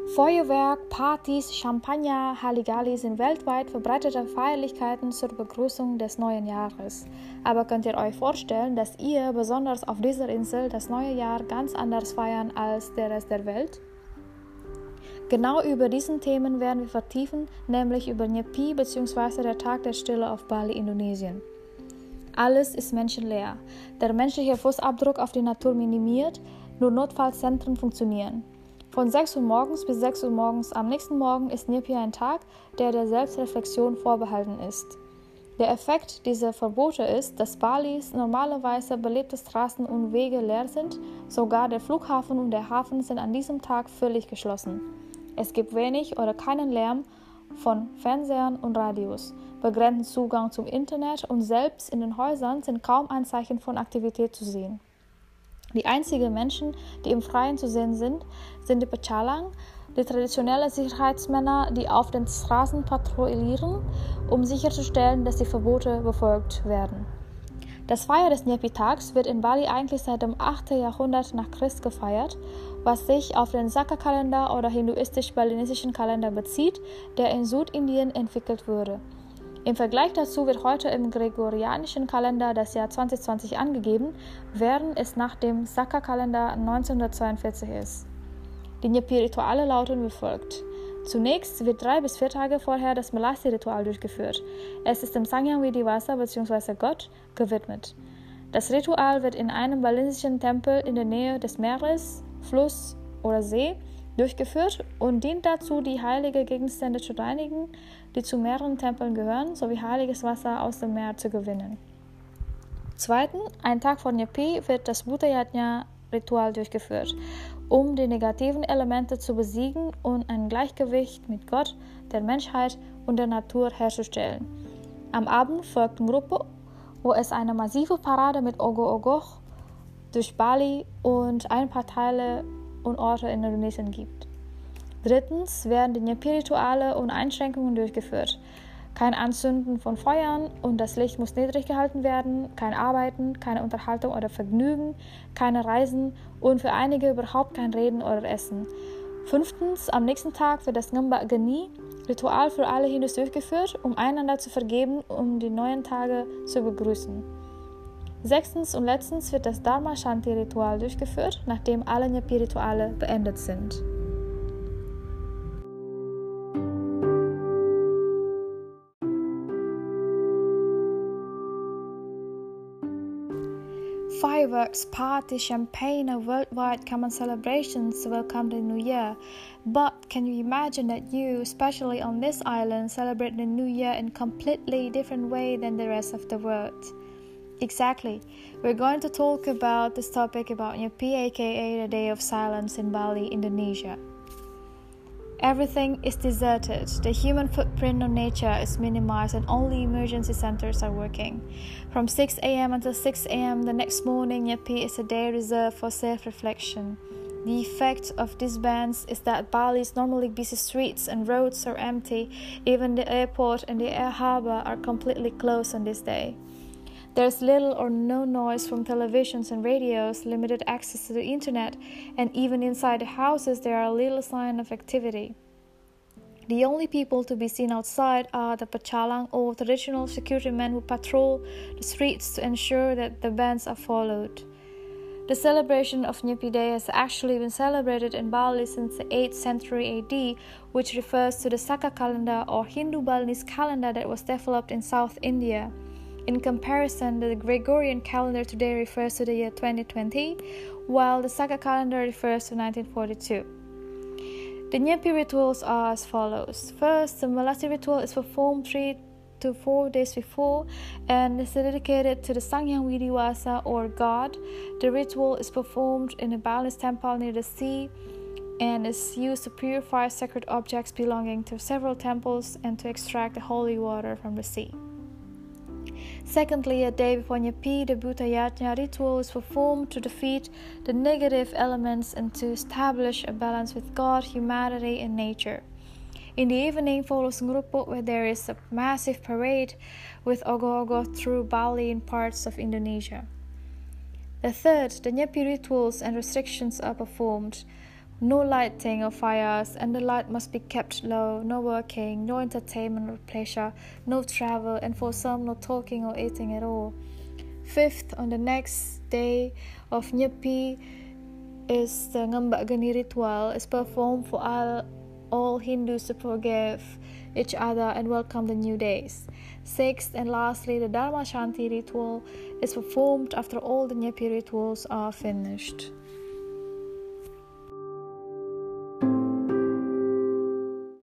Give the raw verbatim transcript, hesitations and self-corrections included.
Feuerwerk, Partys, Champagner, Halligalli sind weltweit verbreitete Feierlichkeiten zur Begrüßung des neuen Jahres. Aber könnt ihr euch vorstellen, dass ihr besonders auf dieser Insel das neue Jahr ganz anders feiern als der Rest der Welt? Genau über diesen Themen werden wir vertiefen, nämlich über Nyepi bzw. der Tag der Stille auf Bali, Indonesien. Alles ist menschenleer. Der menschliche Fußabdruck auf die Natur minimiert, nur Notfallzentren funktionieren. Von sechs Uhr morgens bis sechs Uhr morgens am nächsten Morgen ist Nyepi ein Tag, der der Selbstreflexion vorbehalten ist. Der Effekt dieser Verbote ist, dass Balis normalerweise belebte Straßen und Wege leer sind, sogar der Flughafen und der Hafen sind an diesem Tag völlig geschlossen. Es gibt wenig oder keinen Lärm von Fernsehern und Radios, begrenzten Zugang zum Internet und selbst in den Häusern sind kaum Anzeichen von Aktivität zu sehen. Die einzigen Menschen, die im Freien zu sehen sind, sind die Pecalang, die traditionellen Sicherheitsmänner, die auf den Straßen patrouillieren, um sicherzustellen, dass die Verbote befolgt werden. Das Feier des Nyepi-Tags wird in Bali eigentlich seit dem achten Jahrhundert nach Christ gefeiert, was sich auf den Saka-Kalender oder hinduistisch-balinesischen Kalender bezieht, der in Südindien entwickelt wurde. Im Vergleich dazu wird heute im gregorianischen Kalender das Jahr zwanzig zwanzig angegeben, während es nach dem Saka-Kalender neunzehnhundertzweiundvierzig ist. Die Nyepi-Rituale lauten wie folgt. Zunächst wird drei bis vier Tage vorher das Melasi-Ritual durchgeführt. Es ist dem Sangyang Widivasa bzw. Gott gewidmet. Das Ritual wird in einem balinesischen Tempel in der Nähe des Meeres, Fluss oder See durchgeführt und dient dazu, die heiligen Gegenstände zu reinigen, die zu mehreren Tempeln gehören, sowie heiliges Wasser aus dem Meer zu gewinnen. Zweitens, einen Tag vor Nyepi wird das Bhuta-Yajna-Ritual durchgeführt, um die negativen Elemente zu besiegen und ein Gleichgewicht mit Gott, der Menschheit und der Natur herzustellen. Am Abend folgt Ngrupo, wo es eine massive Parade mit Ogoh-Ogoh durch Bali und ein paar Teile und Orte in Indonesien gibt. Drittens werden die Nyepi-Rituale und Einschränkungen durchgeführt. Kein Anzünden von Feuern und das Licht muss niedrig gehalten werden, kein Arbeiten, keine Unterhaltung oder Vergnügen, keine Reisen und für einige überhaupt kein Reden oder Essen. Fünftens, am nächsten Tag wird das Ngamba Geni Ritual für alle Hindus durchgeführt, um einander zu vergeben und um die neuen Tage zu begrüßen. Sechstens und letztens wird das Dharma Shanti Ritual durchgeführt, nachdem alle Nyepi-Rituale beendet sind. Fireworks, parties, champagne, and worldwide common celebrations welcome the New Year. But can you imagine that you, especially on this island, celebrate the New Year in a completely different way than the rest of the world? Exactly. We're going to talk about this topic about Nyepi, aka the Day of Silence in Bali, Indonesia. Everything is deserted, the human footprint on nature is minimized and only emergency centers are working. From six a.m. until six a.m. the next morning, Nyepi is a day reserved for self-reflection. The effect of these bans is that Bali's normally busy streets and roads are empty, even the airport and the air harbor are completely closed on this day. There's little or no noise from televisions and radios, limited access to the internet, and even inside the houses there are little sign of activity. The only people to be seen outside are the Pecalang or traditional security men who patrol the streets to ensure that the bans are followed. The celebration of Nyepi Day has actually been celebrated in Bali since the eighth century A D, which refers to the Saka calendar or Hindu-Balinese calendar that was developed in South India. In comparison, the Gregorian calendar today refers to the year twenty twenty, while the Saka calendar refers to nineteen forty-two. The Nyepi rituals are as follows. First, the Melasi ritual is performed three to four days before and is dedicated to the Sangyang Widivasa or God. The ritual is performed in a Balinese temple near the sea and is used to purify sacred objects belonging to several temples and to extract the holy water from the sea. Secondly, a day before Nyepi, the Bhuta-Yajna ritual is performed to defeat the negative elements and to establish a balance with God, humanity, and nature. In the evening follows Ngrupo, where there is a massive parade with Ogoh-Ogoh through Bali and parts of Indonesia. The third, the Nyepi rituals and restrictions are performed. No lighting of fires, and the light must be kept low. No working, no entertainment or pleasure, no travel, and for some, no talking or eating at all. Fifth, on the next day of Nyepi, is the Ngambak Geni ritual is performed for all, all Hindus to forgive each other and welcome the new days. Sixth and lastly, the Dharma Shanti ritual is performed after all the Nyepi rituals are finished.